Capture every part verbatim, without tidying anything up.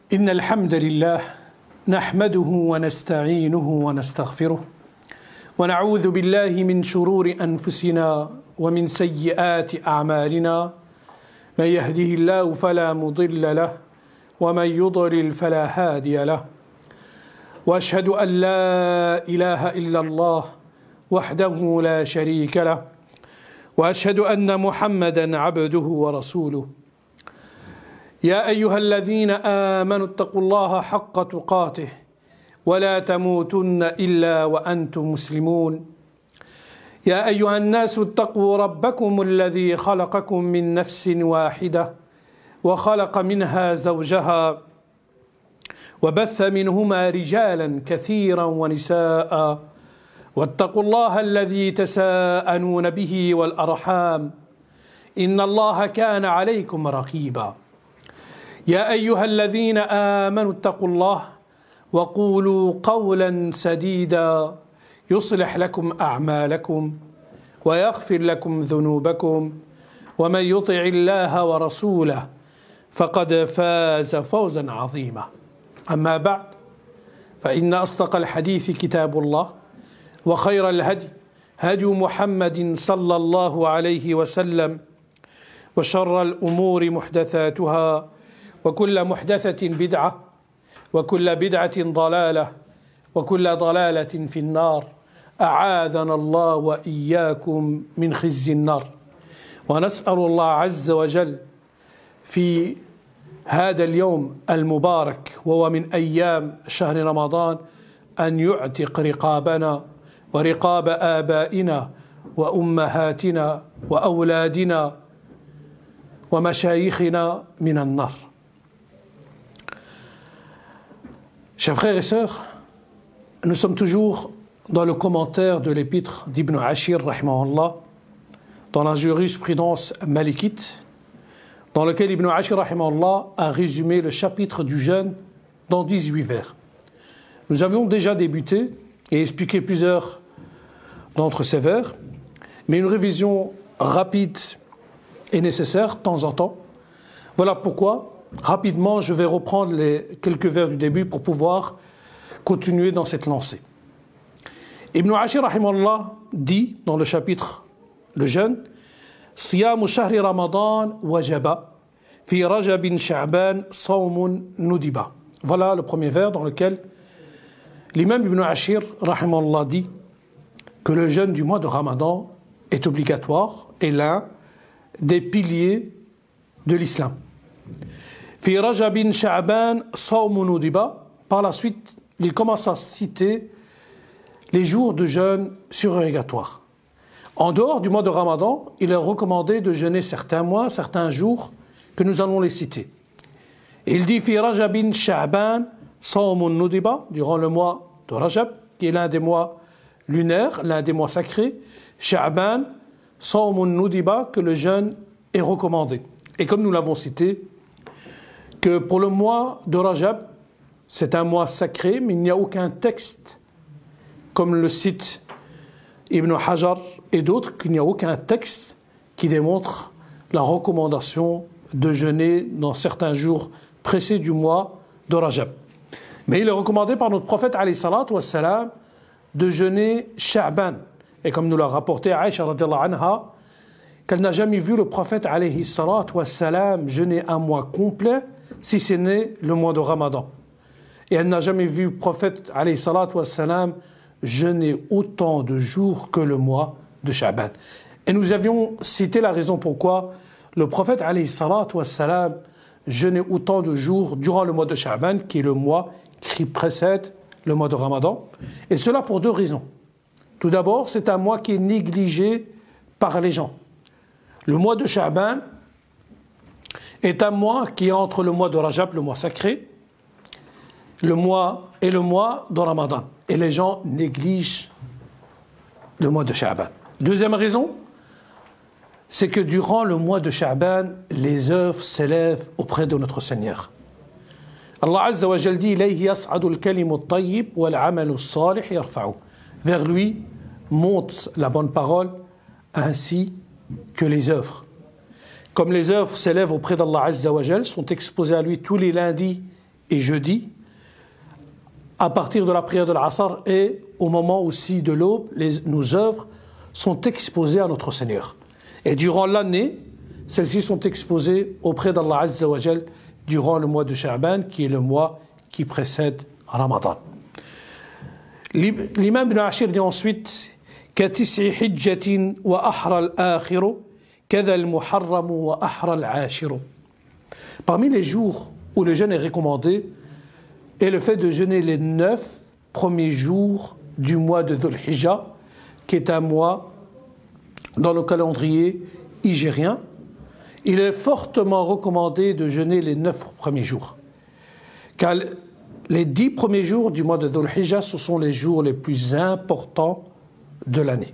إن الحمد لله نحمده ونستعينه ونستغفره ونعوذ بالله من شرور أنفسنا ومن سيئات أعمالنا من يهده الله فلا مضل له ومن يضلل فلا هادي له وأشهد أن لا إله إلا الله وحده لا شريك له وأشهد أن محمدا عبده ورسوله يا أيها الذين آمنوا اتقوا الله حق تقاته ولا تموتن إلا وأنتم مسلمون يا أيها الناس اتقوا ربكم الذي خلقكم من نفس واحدة وخلق منها زوجها وبث منهما رجالا كثيرا ونساء واتقوا الله الذي تساءلون به والأرحام إن الله كان عليكم رقيبا يا أيها الذين آمنوا اتقوا الله وقولوا قولا سديدا يصلح لكم أعمالكم ويغفر لكم ذنوبكم ومن يطع الله ورسوله فقد فاز فوزا عظيما أما بعد فإن أصدق الحديث كتاب الله وخير الهدي هدي محمد صلى الله عليه وسلم وشر الأمور محدثاتها وكل محدثة بدعة وكل بدعة ضلالة وكل ضلالة في النار أعاذنا الله وإياكم من خزي النار ونسأل الله عز وجل في هذا اليوم المبارك وهو من أيام شهر رمضان أن يعتق رقابنا ورقاب آبائنا وأمهاتنا وأولادنا ومشايخنا من النار. Chers frères et sœurs, nous sommes toujours dans le commentaire de l'épître d'Ibn Ashir, rahimahullah, dans la jurisprudence malikite, dans lequel Ibn Ashir, rahimahullah, a résumé le chapitre du jeûne dans dix-huit vers. Nous avions déjà débuté et expliqué plusieurs d'entre ces vers, mais une révision rapide est nécessaire de temps en temps. Voilà pourquoi, rapidement, je vais reprendre les quelques vers du début pour pouvoir continuer dans cette lancée. Ibn Ashir, rahimahullah, dit dans le chapitre le jeûne, Siyamu shahri Ramadan wajaba, fi rajabin sha'ban sawmun nudiba. Voilà le premier vers dans lequel l'imam Ibn Ashir, rahimahullah, dit que le jeûne du mois de Ramadan est obligatoire et l'un des piliers de l'islam. Fi rajabin sha'ban sawmun nudiba. Par la suite, il commence à citer les jours de jeûne surérogatoires. En dehors du mois de Ramadan, il est recommandé de jeûner certains mois, certains jours que nous allons les citer. Et il dit Fi rajabin sha'ban sawmun nudiba, durant le mois de Rajab, qui est l'un des mois lunaires, l'un des mois sacrés, Sha'ban sawmun nudiba, que le jeûne est recommandé. Et comme nous l'avons cité, que pour le mois de Rajab, c'est un mois sacré, mais il n'y a aucun texte, comme le cite Ibn Hajar et d'autres, qu'il n'y a aucun texte qui démontre la recommandation de jeûner dans certains jours précis du mois de Rajab. Mais il est recommandé par notre prophète, alayhi salatu wassalam, de jeûner Sha'ban. Et comme nous l'a rapporté Aïcha radhiyallahu anha, qu'elle n'a jamais vu le prophète, alayhi salatu wassalam, jeûner un mois complet, si ce n'est le mois de Ramadan. Et elle n'a jamais vu le prophète, alayhi salatu wassalam, jeûner autant de jours que le mois de Sha'ban. Et nous avions cité la raison pourquoi le prophète, alayhi salatu wassalam, jeûner autant de jours durant le mois de Sha'ban, qui est le mois qui précède le mois de Ramadan. Et cela pour deux raisons. Tout d'abord, c'est un mois qui est négligé par les gens. Le mois de Sha'ban est un mois qui est entre le mois de Rajab, le mois sacré, le mois et le mois de Ramadan. Et les gens négligent le mois de Sha'ban. Deuxième raison, c'est que durant le mois de Sha'ban, les œuvres s'élèvent auprès de notre Seigneur. Allah Azza wa Jal dit Ilayhi yas'adu al-kalimu at-tayyib wal-'amalu as-salih yarfa'u. Vers lui monte la bonne parole ainsi que les œuvres. Comme les œuvres s'élèvent auprès d'Allah Azza wa Jal, sont exposées à lui tous les lundis et jeudi, à partir de la prière de l'Asr et au moment aussi de l'aube, les, nos œuvres sont exposées à notre Seigneur. Et durant l'année, celles-ci sont exposées auprès d'Allah Azza wa Jal durant le mois de Sha'ban, qui est le mois qui précède Ramadan. L'imam Ibn Ashir dit ensuite كَتِسْعِ حِجَّةٍ وَأَحْرَى الْآخِرُ كَذَا الْمُحَرَّمُ وَأَحْرَى الْعَاشِرُ. Parmi les jours où le jeûne est recommandé est le fait de jeûner les neuf premiers jours du mois de Dhul Hijjah, qui est un mois dans le calendrier hijrien. Il est fortement recommandé de jeûner les neuf premiers jours, car les dix premiers jours du mois de Dhul Hijjah, ce sont les jours les plus importants de l'année.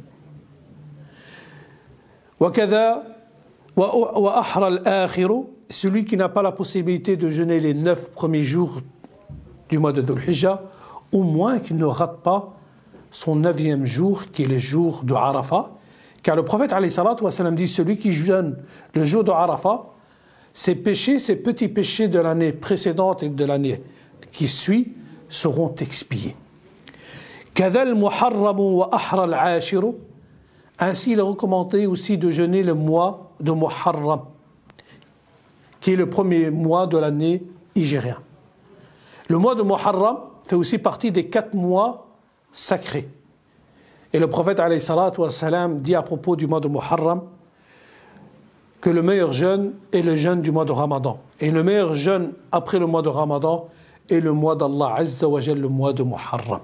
وَكَذَا وَأَحْرَى الْآخِرُ, celui qui n'a pas la possibilité de jeûner les neuf premiers jours du mois de Dhul Hijjah, au moins qu'il ne rate pas son neuvième jour, qui est le jour de Arafat, car le prophète alayhi salatu wa salam dit celui qui jeûne le jour de Arafat, ses péchés, ses petits péchés de l'année précédente et de l'année qui suit seront expiés. كَذَا الْمُحَرَّمُ وَأَحْرَى الْعَاشِرُ, ainsi il est recommandé aussi de jeûner le mois de Muharram, qui est le premier mois de l'année hijrien. Le mois de Muharram fait aussi partie des quatre mois sacrés. Et le prophète alayhi salatu wa salam dit à propos du mois de Muharram que le meilleur jeûne est le jeûne du mois de Ramadan. Et le meilleur jeûne après le mois de Ramadan est le mois d'Allah Azza wa Jal, le mois de Muharram.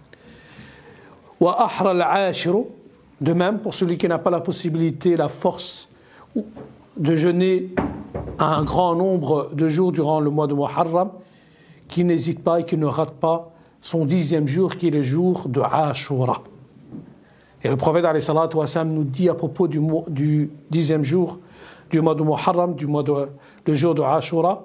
Wa ahra al-ashiru, de même pour celui qui n'a pas la possibilité, la force de jeûner un grand nombre de jours durant le mois de Muharram, qui n'hésite pas et qui ne rate pas son dixième jour, qui est le jour de Ashura. Et le prophète alayhi salatu wa salam nous dit à propos du, du dixième jour du mois de Muharram, du mois de, le jour de Ashura,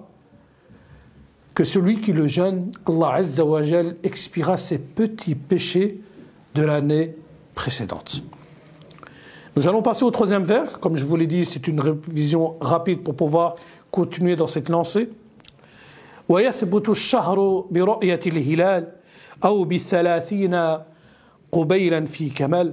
que celui qui le jeûne, Allah Azza wa Jal expiera ses petits péchés de l'année précédente. Nous allons passer au troisième vers. Comme je vous l'ai dit, c'est une révision rapide pour pouvoir continuer dans cette lancée. ويثبت الشهر برؤية الهلال أو بثلاثين قبيلا في كمال,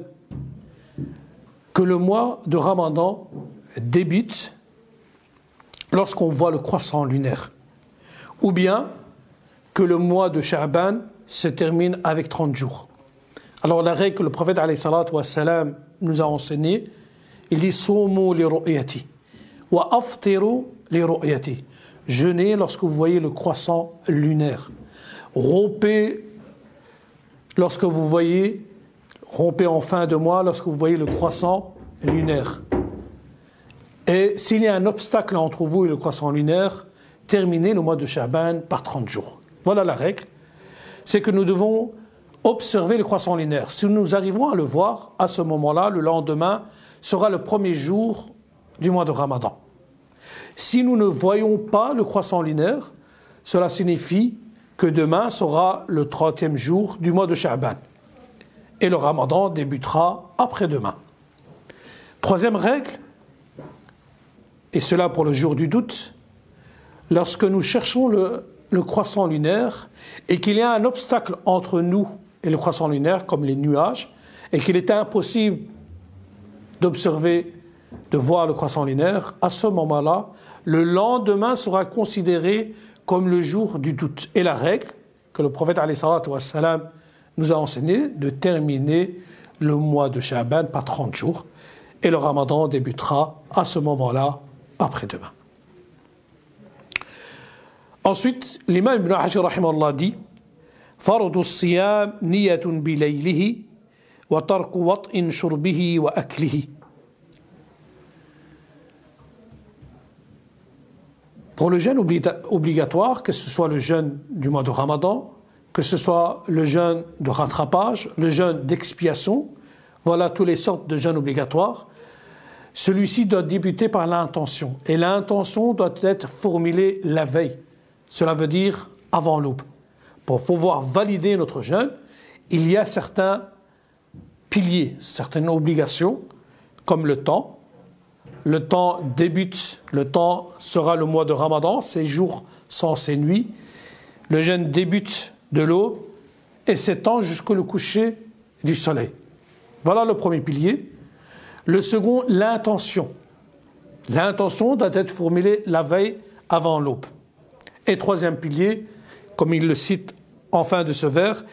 que le mois de Ramadan débute lorsqu'on voit le croissant lunaire, ou bien que le mois de Sha'ban se termine avec trente jours. Alors la règle que le prophète alayhi salatu wa salam nous a enseignée, il dit Soumu li ru'yati wa aftiru li ru'yati. Jeûnez lorsque vous voyez le croissant lunaire. Rompez lorsque vous voyez, rompez en fin de mois lorsque vous voyez le croissant lunaire. Et s'il y a un obstacle entre vous et le croissant lunaire, terminez le mois de Sha'ban par trente jours. Voilà la règle. C'est que nous devons observer le croissant lunaire. Si nous arrivons à le voir, à ce moment-là, le lendemain sera le premier jour du mois de Ramadan. Si nous ne voyons pas le croissant lunaire, cela signifie que demain sera le trentième jour du mois de Sha'ban. Et le Ramadan débutera après-demain. Troisième règle, et cela pour le jour du doute, lorsque nous cherchons le, le croissant lunaire et qu'il y a un obstacle entre nous et le croissant lunaire, comme les nuages, et qu'il est impossible d'observer, de voir le croissant lunaire, à ce moment-là, le lendemain sera considéré comme le jour du doute. Et la règle que le prophète alayhi salatu wa salam nous a enseigné, de terminer le mois de Sha'ban par trente jours, et le Ramadan débutera à ce moment-là, après-demain. Ensuite, l'imam Ibn Ashir rahimahullah dit فرض الصيام نية بليله وترك وطء شربه وأكله. Pour le jeûne obligatoire, que ce soit le jeûne du mois de Ramadan, que ce soit le jeûne de rattrapage, le jeûne d'expiation, voilà toutes les sortes de jeûnes obligatoires, celui-ci doit débuter par l'intention. Et l'intention doit être formulée la veille. Cela veut dire avant l'aube. Pour pouvoir valider notre jeûne, il y a certains piliers, certaines obligations, comme le temps. Le temps débute, le temps sera le mois de Ramadan, ces jours sans ces nuits. le jeûne débute de l'aube et s'étend jusqu'au coucher du soleil. Voilà le premier pilier. Le second, l'intention. L'intention doit être formulée la veille avant l'aube. Et troisième pilier, comme il le cite en fin de ce vers,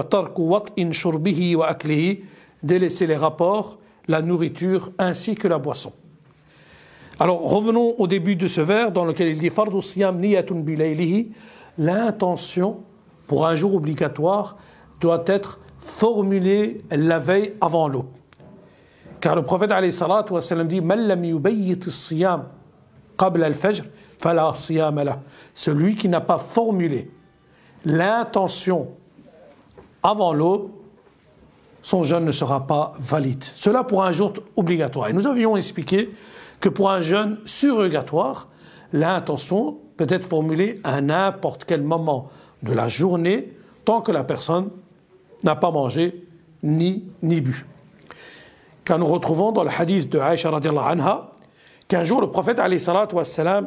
délaisser les rapports, la nourriture ainsi que la boisson. Alors revenons au début de ce vers dans lequel il dit Fardu siyam niyatun bilaylihi. L'intention pour un jour obligatoire doit être formulée la veille avant l'aube. Car le prophète alayhi salatu wa sallam dit Man lam yubayyit as-siyam qabla al-fajr fala siyam lah. Celui qui n'a pas formulé l'intention avant l'aube, son jeûne ne sera pas valide. Cela pour un jour obligatoire. Et nous avions expliqué que pour un jeûne surrogatoire, l'intention peut être formulée à n'importe quel moment de la journée, tant que la personne n'a pas mangé ni, ni bu. Car nous retrouvons dans le hadith de Aïcha radiallahu anha qu'un jour le prophète alayhi salatu wa salam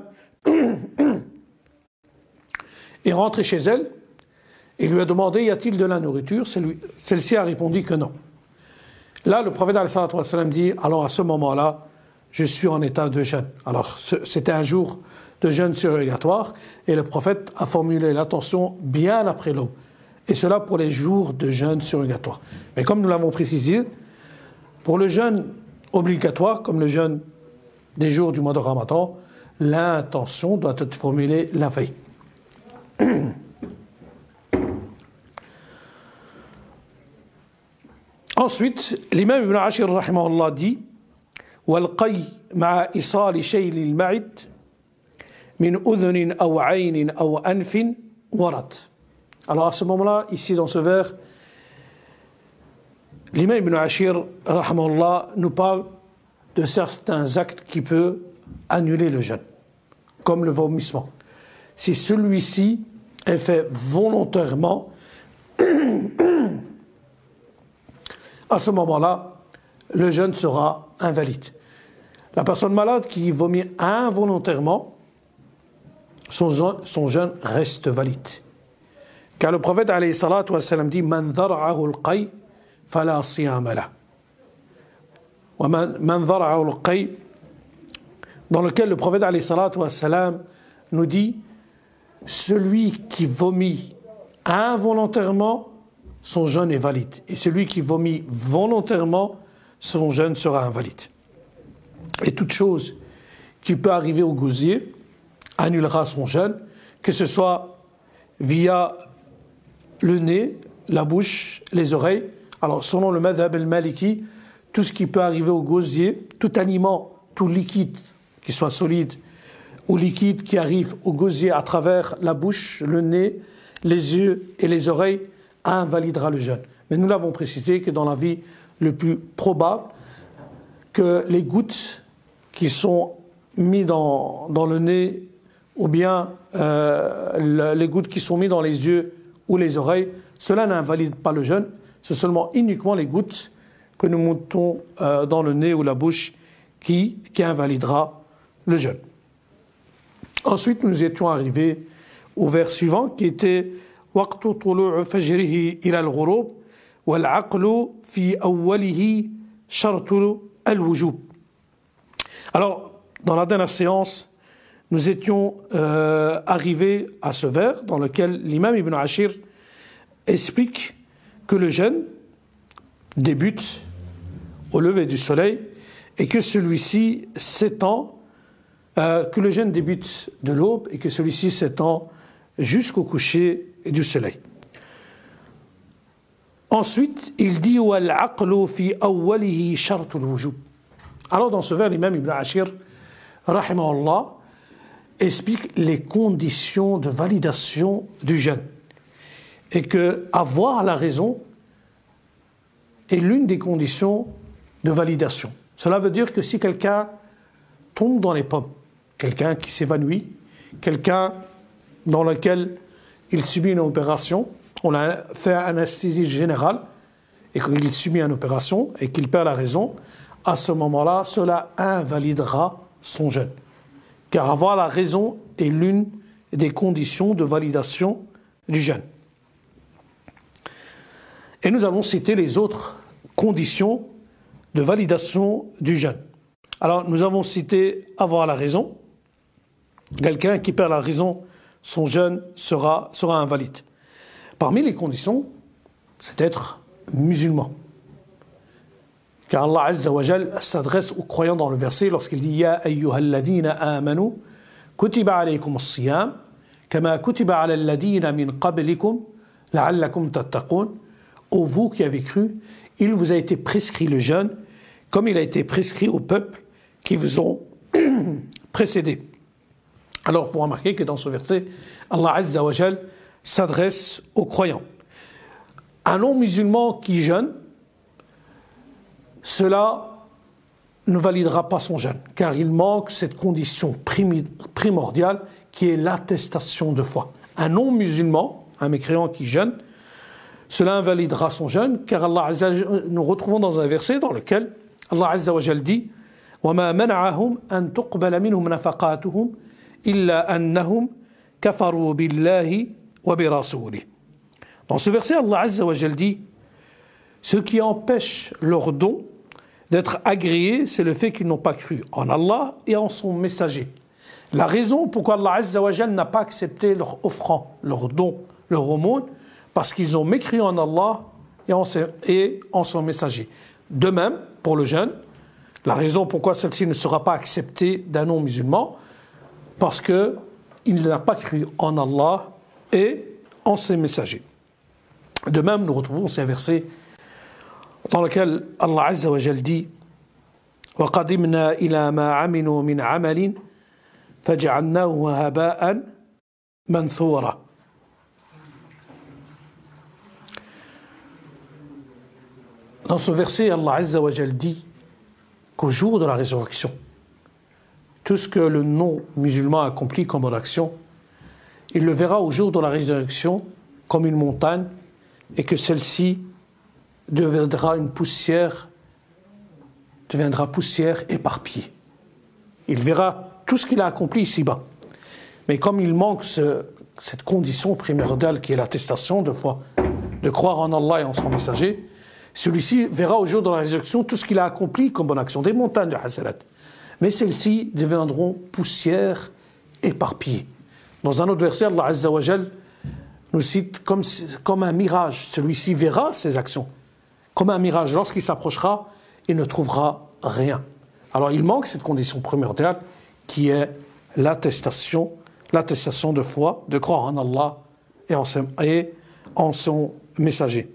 est rentré chez elle et lui a demandé y a-t-il de la nourriture. Celle-ci a répondu que non. Là le prophète alayhi salatu wa salam dit alors à ce moment-là je suis en état de jeûne. Alors c'était un jour de jeûne surrogatoire et le prophète a formulé l'intention bien après l'aube. Et cela pour les jours de jeûne surrogatoire. Mais comme nous l'avons précisé, pour le jeûne obligatoire, comme le jeûne des jours du mois de Ramadan, l'intention doit être formulée la veille. Ensuite, l'imam Ibn Ashir rahimahullah dit وَالْقَيْ مَعَ إِصَالِ شَيْلِ الْمَعِدِ مِنْ أُذُنٍ أَوْ عَيْنٍ أَوْ أَنْفٍ وَرَدْ. Alors à ce moment-là, ici dans ce vers, l'imam Ibn Ashir rahimahullah nous parle de certains actes qui peuvent annuler le jeûne, comme le vomissement. Si celui-ci est fait volontairement, à ce moment-là, le jeûne sera invalide. La personne malade qui vomit involontairement, son jeûne, son jeûne reste valide. Car le prophète alayhi salatu wa sallam dit Man dhara'ahu al-qay fala siyama lah. Wa man dhara'ahu al-qay, dans lequel le prophète alayhi salatu wa sallam nous dit celui qui vomit involontairement, son jeûne est valide. Et celui qui vomit volontairement, son jeûne sera invalide. Et toute chose qui peut arriver au gosier annulera son jeûne, que ce soit via le nez, la bouche, les oreilles. Alors selon le madhab al-maliki, tout ce qui peut arriver au gosier, tout aliment, tout liquide, qui soit solide ou liquide, qui arrive au gosier à travers la bouche, le nez, les yeux et les oreilles, invalidera le jeûne. Mais nous l'avons précisé que dans la vie le plus probable, que les gouttes qui sont mises dans, dans le nez ou bien euh, le, les gouttes qui sont mises dans les yeux ou les oreilles, cela n'invalide pas le jeûne, c'est seulement uniquement les gouttes que nous montons euh, dans le nez ou la bouche qui, qui invalidera le jeûne. Ensuite, nous étions arrivés au vers suivant qui était وقت طلوع فجره إلى الغروب والعقل في أوله شرط الوجوب. Alors, dans la dernière séance, nous étions euh, arrivés à ce vers dans lequel l'imam Ibn Ashir explique que le jeûne débute au lever du soleil et que celui-ci s'étend, euh, que le jeûne débute de l'aube et que celui-ci s'étend jusqu'au coucher du soleil. Ensuite, il dit وَالْعَقْلُ فِي أَوَّلِهِ شَرْطُ الْوُجُوبِ. Alors dans ce vers, l'imam Ibn Ashir rahimahullah explique les conditions de validation du jeûne et que avoir la raison est l'une des conditions de validation. Cela veut dire que si quelqu'un tombe dans les pommes, quelqu'un qui s'évanouit, quelqu'un dans lequel il subit une opération, on a fait une anesthésie générale et qu'il subit une opération et qu'il perd la raison, à ce moment-là, cela invalidera son jeûne. Car avoir la raison est l'une des conditions de validation du jeûne. Et nous allons citer les autres conditions de validation du jeûne. Alors, nous avons cité avoir la raison. Quelqu'un qui perd la raison, son jeûne sera, sera invalide. Parmi les conditions, c'est d'être musulman. Car Allah Azza wa Jal s'adresse aux croyants dans le verset lorsqu'il dit « Ya ayyuhalladhina amanu, kutiba alaykum as-siyam, kama kutiba ala alladhina min qablikum, la'allakum tattaqun » Ô vous qui avez cru, il vous a été prescrit le jeûne, comme il a été prescrit aux peuples qui vous ont précédés. Alors, vous remarquez que dans ce verset, Allah Azza wa Jal s'adresse aux croyants. Un non-musulman qui jeûne, cela ne validera pas son jeûne, car il manque cette condition primordiale qui est l'attestation de foi. Un non-musulman, un mécréant qui jeûne, cela invalidera son jeûne, car Allah Azza wa Jal, nous retrouvons dans un verset dans lequel Allah Azza wa Jal dit وَمَا مَنَعَهُمْ أَن تُقْبَلَ مِنْهُمْ نَفَقَاتُهُمْ إِلَّا أَنَّهُمْ كَفَرُوا بِاللَّهِ وَبِرَسُولِهِ. Dans ce verset, Allah Azza wa Jal dit ce qui empêche leurs dons d'être agréés, c'est le fait qu'ils n'ont pas cru en Allah et en son messager. La raison pourquoi Allah Azza wa Jal n'a pas accepté leur offrande, leur don, leur aumône, parce qu'ils ont mécru en Allah et en, et en son messager. De même, pour le jeûne, la raison pourquoi celle-ci ne sera pas acceptée d'un non-musulman, parce qu'il n'a pas cru en Allah et en ses messagers. De même, nous retrouvons ces versets dans lequel Allah Azza wa Jal dit وَقَدِمْنَا إِلَى مَا عَمِلُوا مِنْ عَمَلٍ فَجَعَلْنَاهُ هَبَاءً مَنْثُورًا. Dans ce verset, Allah Azza wa Jal dit qu'au jour de la résurrection, tout ce que le non-musulman accomplit comme bonne action, il le verra au jour de la résurrection comme une montagne et que celle-ci deviendra une poussière, deviendra poussière éparpillée. Il verra tout ce qu'il a accompli ici-bas. Mais comme il manque ce, cette condition primordiale qui est l'attestation de foi, de croire en Allah et en son messager, celui-ci verra au jour de la résurrection tout ce qu'il a accompli comme bonne action, des montagnes de hasanat. Mais celles-ci deviendront poussière éparpillée. Dans un autre verset, Allah Azza wa Jal nous cite comme, comme un mirage. Celui-ci verra ses actions comme un mirage. Lorsqu'il s'approchera, il ne trouvera rien. Alors il manque cette condition primordiale qui est l'attestation, l'attestation de foi, de croire en Allah et en, et en son messager.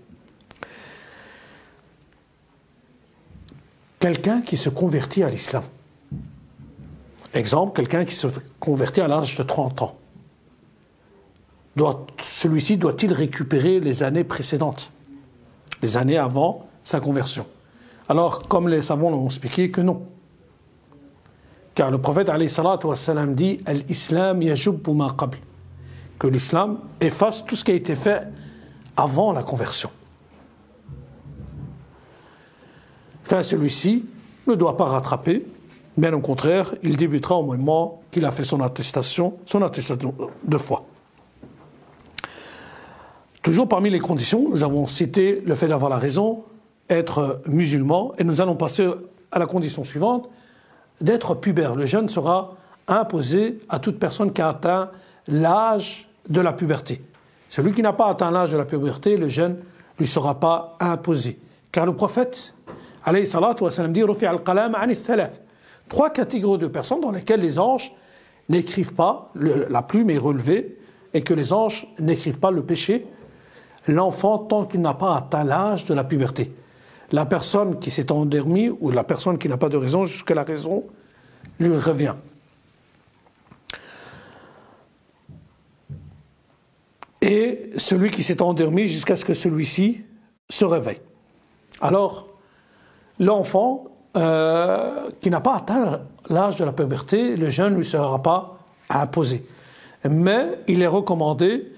Quelqu'un qui se convertit à l'islam. Exemple, quelqu'un qui se convertit à l'âge de trente ans. Doit, celui-ci doit-il récupérer les années précédentes, les années avant sa conversion? Alors, comme les savants l'ont expliqué, que non. Car le prophète alayhi salatu wa salam dit « Al-Islam yajubbu ma qabl » que l'islam efface tout ce qui a été fait avant la conversion. Enfin, celui-ci ne doit pas rattraper, bien au contraire, il débutera au moment qu'il a fait son attestation, son attestation de foi. Toujours parmi les conditions, nous avons cité le fait d'avoir la raison, être musulman, et nous allons passer à la condition suivante, d'être pubère. Le jeûne sera imposé à toute personne qui a atteint l'âge de la puberté. Celui qui n'a pas atteint l'âge de la puberté, le jeûne ne lui sera pas imposé. Car le prophète alayhi salatu wa salam dit rufi'a al-qalam 'an ath-thalath. Trois catégories de personnes dans lesquelles les anges n'écrivent pas, le, la plume est relevée, et que les anges n'écrivent pas le péché, l'enfant tant qu'il n'a pas atteint l'âge de la puberté. La personne qui s'est endormie ou la personne qui n'a pas de raison jusqu'à la raison lui revient. Et celui qui s'est endormi jusqu'à ce que celui-ci se réveille. Alors, l'enfant euh, qui n'a pas atteint l'âge de la puberté, le jeûne ne lui sera pas imposé. Mais il est recommandé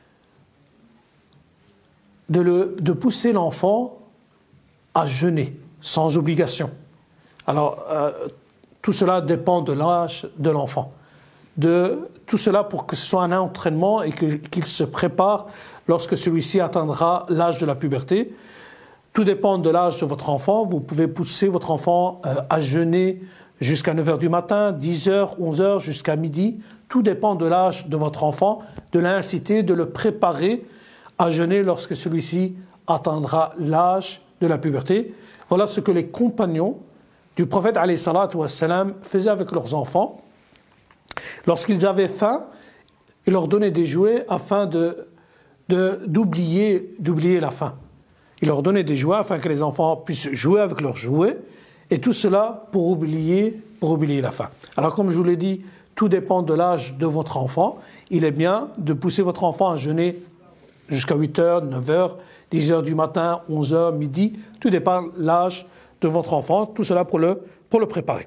de, le, de pousser l'enfant à jeûner, sans obligation. Alors, euh, tout cela dépend de l'âge de l'enfant. de tout cela pour que ce soit un entraînement et que, qu'il se prépare lorsque celui-ci atteindra l'âge de la puberté. Tout dépend de l'âge de votre enfant. Vous pouvez pousser votre enfant euh, à jeûner jusqu'à neuf heures du matin, dix heures, onze heures, jusqu'à midi. Tout dépend de l'âge de votre enfant, de l'inciter, de le préparer à jeûner lorsque celui-ci atteindra l'âge de la puberté. Voilà ce que les compagnons du prophète alayhi salatu wassalam faisaient avec leurs enfants. Lorsqu'ils avaient faim, ils leur donnaient des jouets afin de, de, d'oublier, d'oublier la faim. Ils leur donnaient des jouets afin que les enfants puissent jouer avec leurs jouets, et tout cela pour oublier, pour oublier la faim. Alors comme je vous l'ai dit, tout dépend de l'âge de votre enfant. Il est bien de pousser votre enfant à jeûner jusqu'à huit heures, neuf heures, dix heures du matin, onze heures, midi. Tout dépend de l'âge de votre enfant. Tout cela pour le, pour le préparer.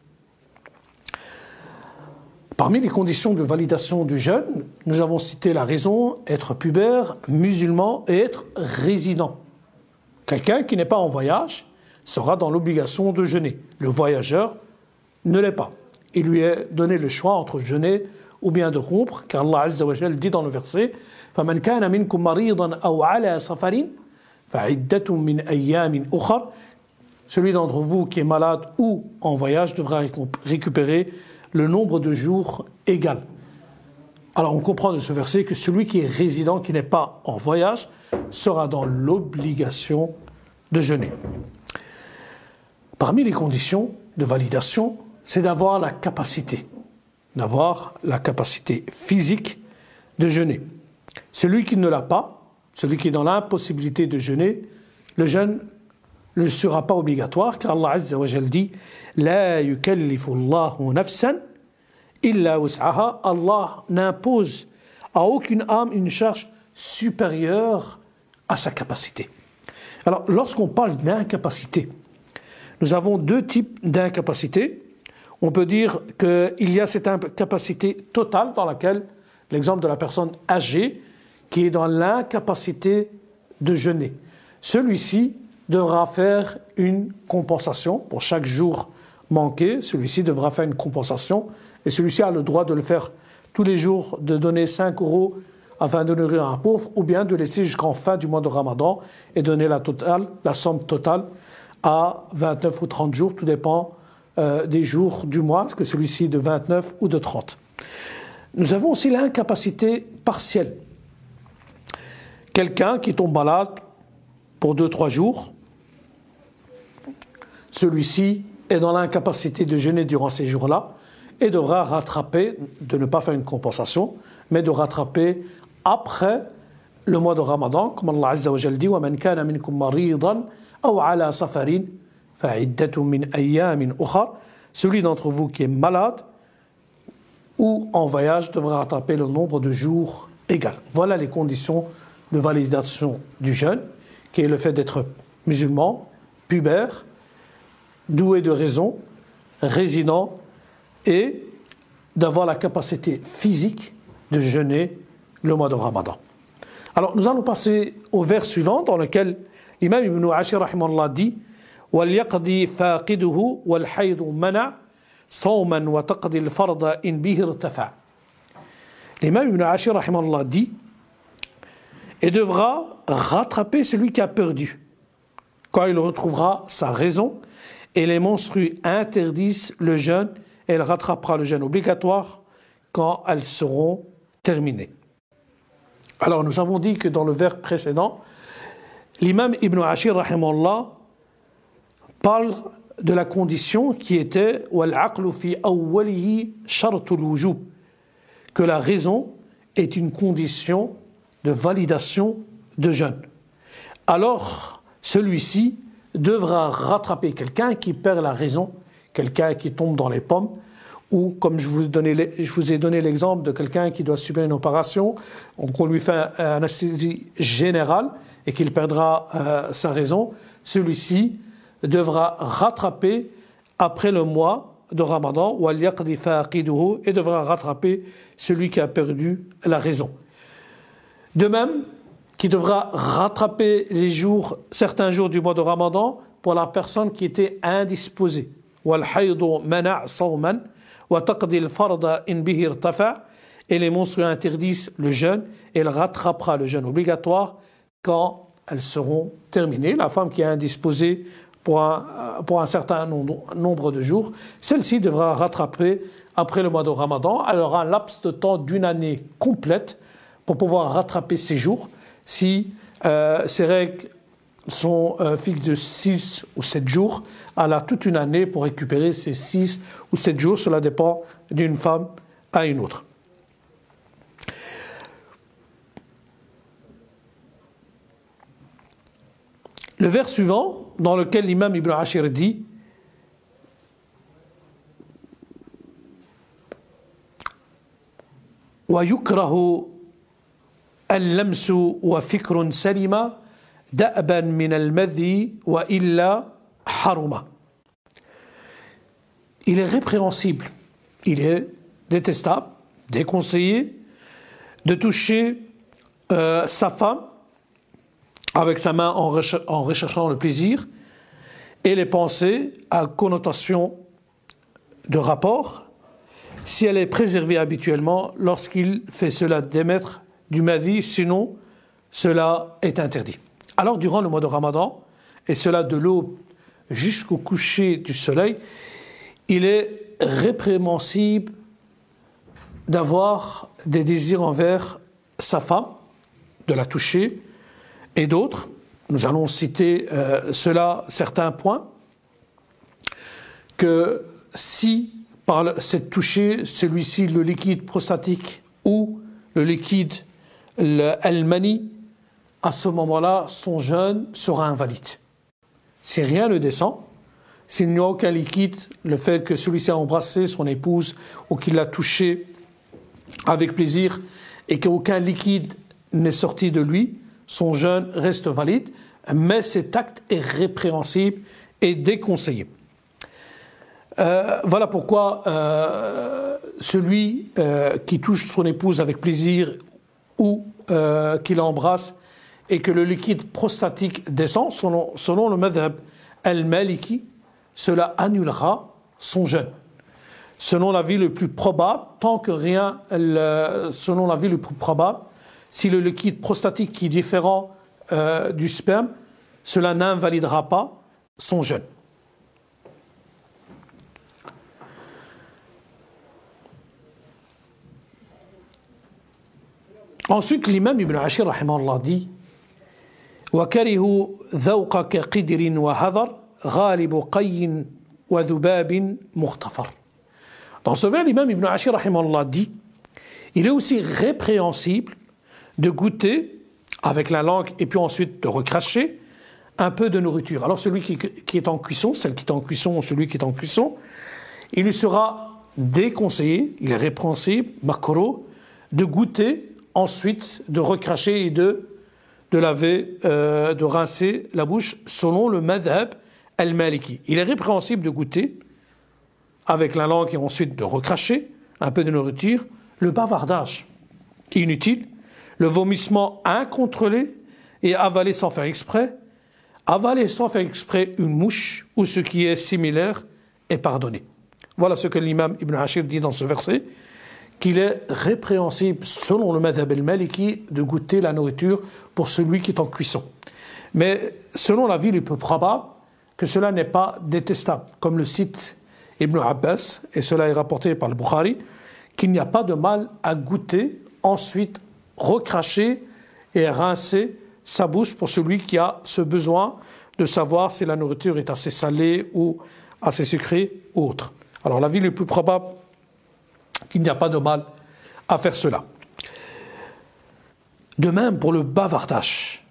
Parmi les conditions de validation du jeûne, nous avons cité la raison, être pubère, musulman et être résident. Quelqu'un qui n'est pas en voyage sera dans l'obligation de jeûner. Le voyageur ne l'est pas. Il lui est donné le choix entre jeûner ou bien de rompre, car Allah Azza wa Jal dit dans le verset فَمَنْ كَانَ مِنْكُمْ مَرِيضًا أَوْ عَلَى سَفَرٍ فَعِدَّةٌ مِنْ أَيَّامٍ أُخَرٍ. Celui d'entre vous qui est malade ou en voyage devra récupérer le nombre de jours égal. Alors on comprend de ce verset que celui qui est résident, qui n'est pas en voyage, sera dans l'obligation de jeûner. Parmi les conditions de validation, c'est d'avoir la capacité, d'avoir la capacité physique de jeûner. Celui qui ne l'a pas, celui qui est dans l'impossibilité de jeûner, le jeûne ne sera pas obligatoire, car Allah Azza wa Jal dit « La yukallifu Allahu nafsan illa wus'aha » Allah n'impose à aucune âme une charge supérieure à sa capacité. Alors, lorsqu'on parle d'incapacité, nous avons deux types d'incapacité. On peut dire qu'il y a cette incapacité totale dans laquelle, l'exemple de la personne âgée qui est dans l'incapacité de jeûner. Celui-ci devra faire une compensation pour chaque jour manqué. Celui-ci devra faire une compensation et celui-ci a le droit de le faire tous les jours, de donner cinq euros afin de nourrir un pauvre ou bien de laisser jusqu'en fin du mois de Ramadan et donner la, totale, la somme totale à vingt-neuf ou trente jours, tout dépend euh, des jours du mois, est-ce que celui-ci est de vingt-neuf ou de trente. Nous avons aussi l'incapacité partielle. Quelqu'un qui tombe malade pour deux trois jours, celui-ci est dans l'incapacité de jeûner durant ces jours-là et devra rattraper, de ne pas faire une compensation, mais de rattraper après le mois de Ramadan, comme Allah Azza wa Jal dit وَمَنْ كَانَ مِنْكُمْ مَرِيضًا أَوْ عَلَى سَفَرٍ فَعِدَّةٌ مِنْ أَيَّامٍ أُخَرٍ. Celui d'entre vous qui est malade ou en voyage devra rattraper le nombre de jours égal. Voilà les conditions de validation du jeûne, qui est le fait d'être musulman, pubère, doué de raison, résident et d'avoir la capacité physique de jeûner le mois de Ramadan. Alors nous allons passer au vers suivant dans lequel l'imam Ibn Ashir rahimahullah dit وَلْيَقْضِي فَاقِدُهُ وَالْحَيْضُ مَنَعْ صَوْمًا وَتَقْضِي الْفَرْضَ إِنْ بِهِ ارْتَفَعْ. L'imam Ibn Ashir rahimahullah dit et devra rattraper celui qui a perdu quand il retrouvera sa raison, et les menstrues interdisent le jeûne et elle rattrapera le jeûne obligatoire quand elles seront terminées. Alors nous avons dit que dans le vers précédent, l'imam Ibn Ashir rahimahullah parle de la condition qui était وَالْعَقْلُ فِي أَوَّلِهِ شَرْطُ الْوُجُوبِ, que la raison est une condition de validation de jeûne. Alors, celui-ci devra rattraper quelqu'un qui perd la raison, quelqu'un qui tombe dans les pommes, ou comme je vous, donnais, je vous ai donné l'exemple de quelqu'un qui doit subir une opération, qu'on lui fait un anesthésie générale et qu'il perdra euh, sa raison, celui-ci devra rattraper après le mois de Ramadan, et devra rattraper celui qui a perdu la raison. De même, qui devra rattraper les jours, certains jours du mois de Ramadan pour la personne qui était indisposée. وَتَقْضِي الْفَرْضَ إِنْ بِهِ ارْتَفَعَ. Et les monstrueux interdisent le jeûne et elle rattrapera le jeûne obligatoire quand elles seront terminées. La femme qui est indisposée pour un, pour un certain nombre de jours, celle-ci devra rattraper après le mois de Ramadan. Elle aura un laps de temps d'une année complète pour pouvoir rattraper ses jours. Si euh, ces règles sont euh, fixes de six ou sept jours, elle a toute une année pour récupérer ces six ou sept jours. Cela dépend d'une femme à une autre. Le vers suivant, dans lequel l'imam Ibn Ashir dit وَيُكْرَهُ اللَّمْسُ وَفِكْرٌ سَلِمَ دَأْبًا مِنَ الْمَذِي وَإِلَّا حَرُمَ. Il est répréhensible, il est détestable, déconseillé de toucher euh, sa femme avec sa main en, recher- en recherchant le plaisir et les pensées à connotation de rapport si elle est préservée habituellement lorsqu'il fait cela d'émettre du madhi, sinon cela est interdit. Alors durant le mois de Ramadan, et cela de l'aube jusqu'au coucher du soleil, il est répréhensible d'avoir des désirs envers sa femme, de la toucher, et d'autres. Nous allons citer euh, cela, certains points, que si par cette touchée, celui-ci, le liquide prostatique ou le liquide le al-mani, à ce moment-là, son jeûne sera invalide. Si rien ne descend, s'il n'y a aucun liquide, le fait que celui-ci a embrassé son épouse ou qu'il l'a touché avec plaisir et qu'aucun liquide n'est sorti de lui, son jeûne reste valide, mais cet acte est répréhensible et déconseillé. Euh, voilà pourquoi euh, celui euh, qui touche son épouse avec plaisir ou euh, qui l'embrasse et que le liquide prostatique descend, selon, selon le madhab al-maliki, cela annulera son jeûne. Selon l'avis le plus probable, tant que rien, le, selon l'avis le plus probable, si le liquide prostatique qui est différent euh, du sperme, cela n'invalidera pas son jeûne. Ensuite, l'imam Ibn Ashir rahimahullah dit وَكَرِهُ ذَوْقَ كَقِدْرٍ وَهَذَرٍ غَالِبُ قَيٍّ وَذُبَابٍ مُغْتَفَرٍ. Dans ce vers, l'imam Ibn Ashir rahimahullah dit il est aussi répréhensible de goûter avec la langue et puis ensuite de recracher un peu de nourriture. Alors celui qui, qui est en cuisson, celle qui est en cuisson ou celui qui est en cuisson, il lui sera déconseillé, il est répréhensible, makro, de goûter, ensuite de recracher et de, de laver, euh, de rincer la bouche selon le madhab al-maliki. Il est répréhensible de goûter avec la langue et ensuite de recracher un peu de nourriture, le bavardage inutile, le vomissement incontrôlé et avaler sans faire exprès, avaler sans faire exprès une mouche ou ce qui est similaire est pardonné. Voilà ce que l'imam Ibn Ashir dit dans ce verset, qu'il est répréhensible selon le madhab al-maliki de goûter la nourriture pour celui qui est en cuisson. Mais selon l'avis le plus probable, que cela n'est pas détestable, comme le cite Ibn Abbas, et cela est rapporté par le Bukhari, qu'il n'y a pas de mal à goûter, ensuite recracher et rincer sa bouche pour celui qui a ce besoin de savoir si la nourriture est assez salée ou assez sucrée ou autre. Alors l'avis le plus probable, qu'il n'y a pas de mal à faire cela. De même pour le bavardage.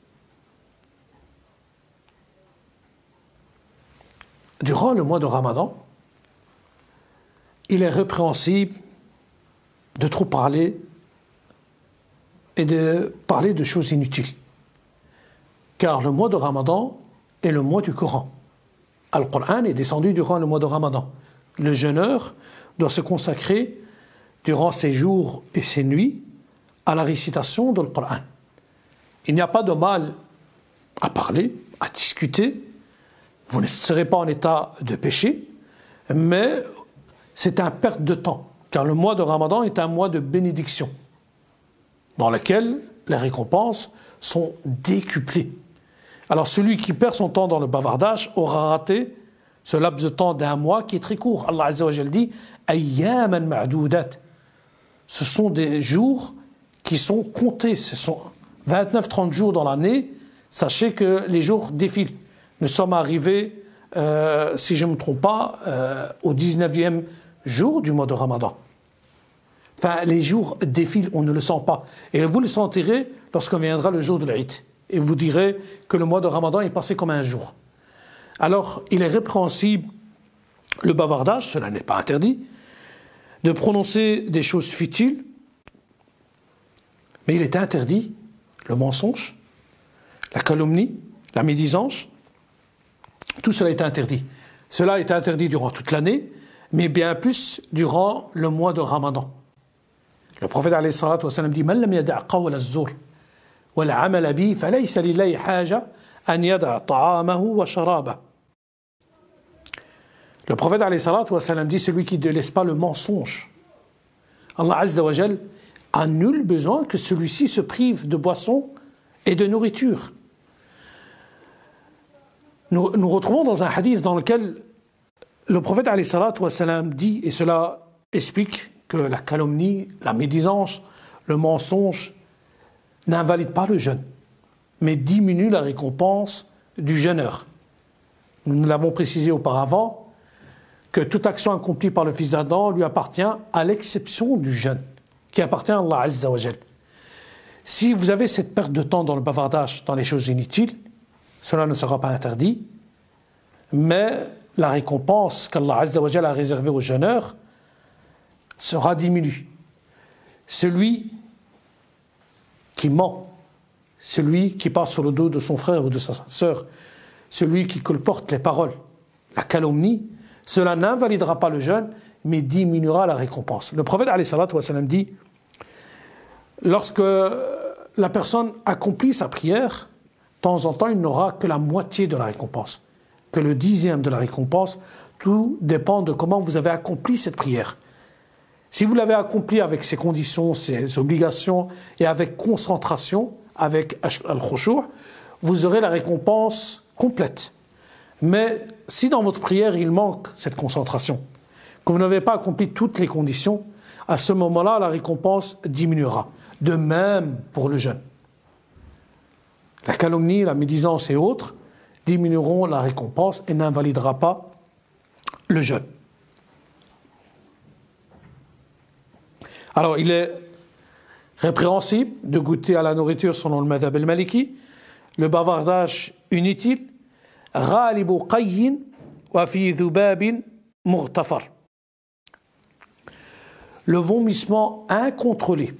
Durant le mois de Ramadan, il est répréhensible de trop parler et de parler de choses inutiles. Car le mois de Ramadan est le mois du Coran. Al-Qur'an est descendu durant le mois de Ramadan. Le jeûneur doit se consacrer durant ses jours et ses nuits à la récitation de l'Qur'an. Il n'y a pas de mal à parler, à discuter. Vous ne serez pas en état de péché, mais c'est un perte de temps, car le mois de Ramadan est un mois de bénédiction, dans lequel les récompenses sont décuplées. Alors celui qui perd son temps dans le bavardage aura raté ce laps de temps d'un mois qui est très court. Allah Azza wa Jal dit « Ayyaman ma'doudat » Ce sont des jours qui sont comptés, ce sont vingt-neuf à trente jours dans l'année. Sachez que les jours défilent. Nous sommes arrivés, euh, si je ne me trompe pas, euh, au dix-neuvième jour du mois de Ramadan. Enfin, les jours défilent, on ne le sent pas. Et vous le sentirez lorsqu'on viendra le jour de l'Aïd. Et vous direz que le mois de Ramadan est passé comme un jour. Alors, il est répréhensible le bavardage, cela n'est pas interdit, de prononcer des choses futiles, mais il est interdit le mensonge, la calomnie, la médisance, tout cela est interdit. Cela est interdit durant toute l'année, mais bien plus durant le mois de Ramadan. Le prophète alayhi salatu wa sallam dit « Man lam yada' qawla az-zur wa al-'amala bi falaysa lillahi haja an yada' ta'amahu wa sharabah » Le prophète alayhi salatu wa sallam dit « Celui qui ne laisse pas le mensonge, Allah Azza wa Jal a nul besoin que celui-ci se prive de boissons et de nourriture. » Nous, nous retrouvons dans un hadith dans lequel le prophète alayhi salatu wa sallam dit, et cela explique que la calomnie, la médisance, le mensonge n'invalide pas le jeûne, mais diminue la récompense du jeûneur. Nous l'avons précisé auparavant que toute action accomplie par le fils d'Adam lui appartient à l'exception du jeûne, qui appartient à Allah Azza wa Jal. Si vous avez cette perte de temps dans le bavardage, dans les choses inutiles, cela ne sera pas interdit, mais la récompense qu'Allah Azza wa Jal a réservée aux jeûneurs sera diminuée. Celui qui ment, celui qui passe sur le dos de son frère ou de sa sœur, celui qui colporte les paroles, la calomnie, cela n'invalidera pas le jeûne, mais diminuera la récompense. Le prophète alayhi salatu wa sallam dit, lorsque la personne accomplit sa prière, de temps en temps, il n'aura que la moitié de la récompense, que le dixième de la récompense. Tout dépend de comment vous avez accompli cette prière. Si vous l'avez accomplie avec ses conditions, ses obligations et avec concentration, avec al-khushu', vous aurez la récompense complète. Mais si dans votre prière, il manque cette concentration, que vous n'avez pas accompli toutes les conditions, à ce moment-là, la récompense diminuera. De même pour le jeûne. La calomnie, la médisance et autres diminueront la récompense et n'invalidera pas le jeûne. Alors, il est répréhensible de goûter à la nourriture selon le madhab al-maliki, le bavardage inutile, غالب قي وفي ذباب مغتفر. Le vomissement incontrôlé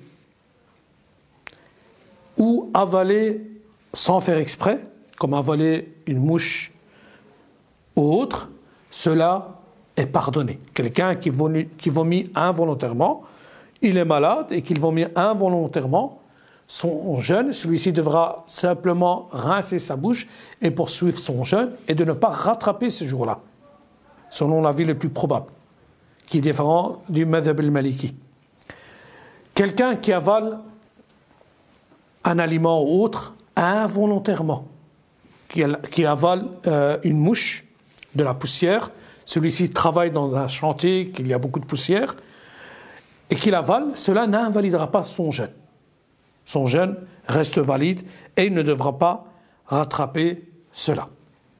ou avaler sans faire exprès, comme avaler une mouche ou autre, cela est pardonné. Quelqu'un qui vomit, qui vomit involontairement, il est malade et qu'il vomit involontairement, son jeûne, celui-ci devra simplement rincer sa bouche et poursuivre son jeûne et de ne pas rattraper ce jour-là, selon l'avis le plus probable, qui est différent du madhab al-maliki. Quelqu'un qui avale un aliment ou autre involontairement, qui, qui avale euh, une mouche, de la poussière, celui-ci travaille dans un chantier, qu'il y a beaucoup de poussière, et qu'il avale, cela n'invalidera pas son jeûne. Son jeûne reste valide et il ne devra pas rattraper cela.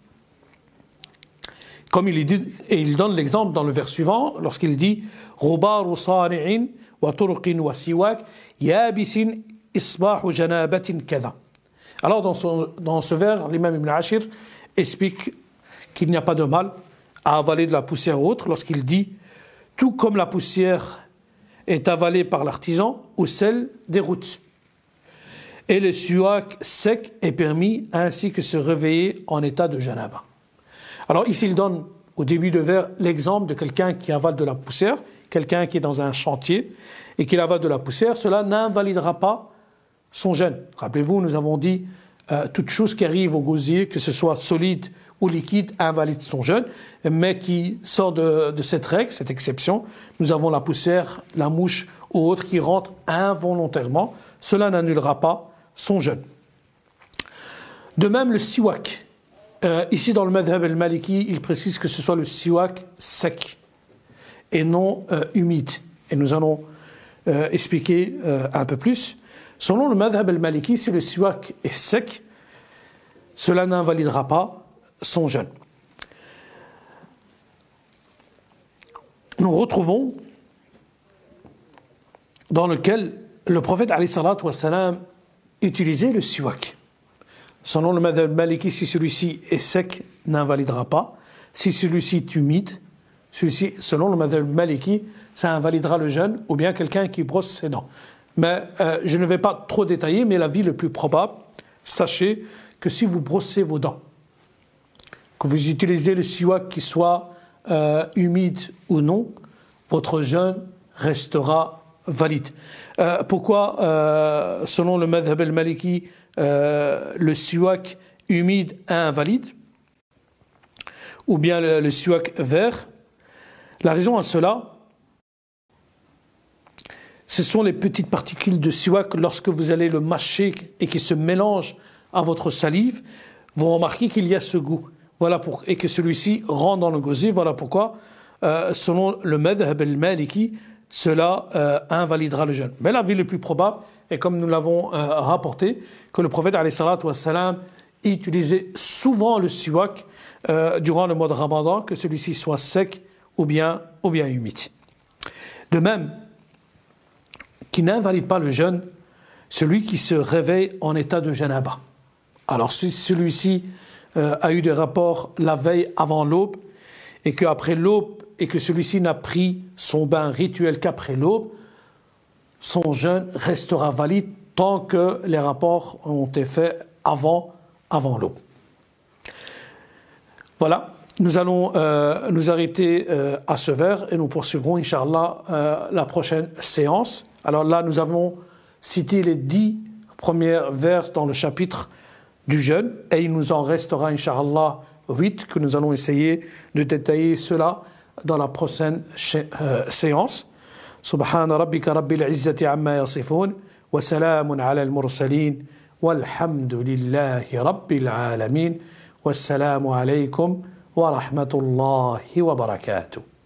Comme il dit, et il donne l'exemple dans le vers suivant, lorsqu'il dit « Rubaru sari'in wa turqin wa siwak yabisin isbahu janabatin kada » Alors dans, son, dans ce vers, l'imam Ibn Ashir explique qu'il n'y a pas de mal à avaler de la poussière ou autre lorsqu'il dit « Tout comme la poussière est avalée par l'artisan ou celle des routes. Et le siwak sec est permis ainsi que se réveiller en état de janaba. » Alors ici, il donne au début de vers l'exemple de quelqu'un qui avale de la poussière, quelqu'un qui est dans un chantier et qui avale de la poussière, cela n'invalidera pas son jeûne. Rappelez-vous, nous avons dit euh, toute chose qui arrive au gosier, que ce soit solide ou liquide, invalide son jeûne, mais qui sort de, de cette règle, cette exception. Nous avons la poussière, la mouche ou autre qui rentre involontairement. Cela n'annulera pas son jeûne. De même, le siwak. Euh, ici, dans le madhab al-maliki, il précise que ce soit le siwak sec et non euh, humide. Et nous allons euh, expliquer euh, un peu plus. Selon le madhab al-maliki, si le siwak est sec, cela n'invalidera pas son jeûne. Nous retrouvons dans lequel le prophète alayhi salatu wassalam utilisait le siwak. Selon le madhab maliki, si celui-ci est sec, n'invalidera pas. Si celui-ci est humide, celui-ci, selon le madhab maliki, ça invalidera le jeûne, ou bien quelqu'un qui brosse ses dents. Mais euh, je ne vais pas trop détailler, mais l'avis le plus probable, sachez que si vous brossez vos dents, que vous utilisez le siwak qui soit euh, humide ou non, votre jeûne restera valide. Euh, pourquoi, euh, selon le madhab al-maliki, euh, le siwak humide est invalide, ou bien le, le siwak vert? La raison à cela, ce sont les petites particules de siwak, lorsque vous allez le mâcher et qui se mélangent à votre salive, vous remarquez qu'il y a ce goût. Voilà pour, et que celui-ci rentre dans le gosier. Voilà pourquoi, euh, selon le madhab al-maliki, cela euh, invalidera le jeûne. Mais l'avis le plus probable, et comme nous l'avons euh, rapporté, que le prophète alayhi salatu wassalam utilisait souvent le siwak euh, durant le mois de Ramadan, que celui-ci soit sec ou bien, ou bien humide. De même, qui n'invalide pas le jeûne, celui qui se réveille en état de janaba. Alors si celui-ci euh, a eu des rapports la veille avant l'aube, et qu'après l'aube, et que celui-ci n'a pris son bain rituel qu'après l'aube, son jeûne restera valide tant que les rapports ont été faits avant, avant l'aube. Voilà, nous allons euh, nous arrêter euh, à ce vers et nous poursuivrons, Inch'Allah, euh, la prochaine séance. Alors là, nous avons cité les dix premiers vers dans le chapitre du jeûne et il nous en restera, Inch'Allah, huit que nous allons essayer de détailler cela dans la prochaine euh, séance. Subhana rabbika rabbil izzati amma yasifun wa salamun ala al-mursalin walhamdulillahi rabbil alamin wassalamu alaykum wa rahmatullahi wa barakatuh.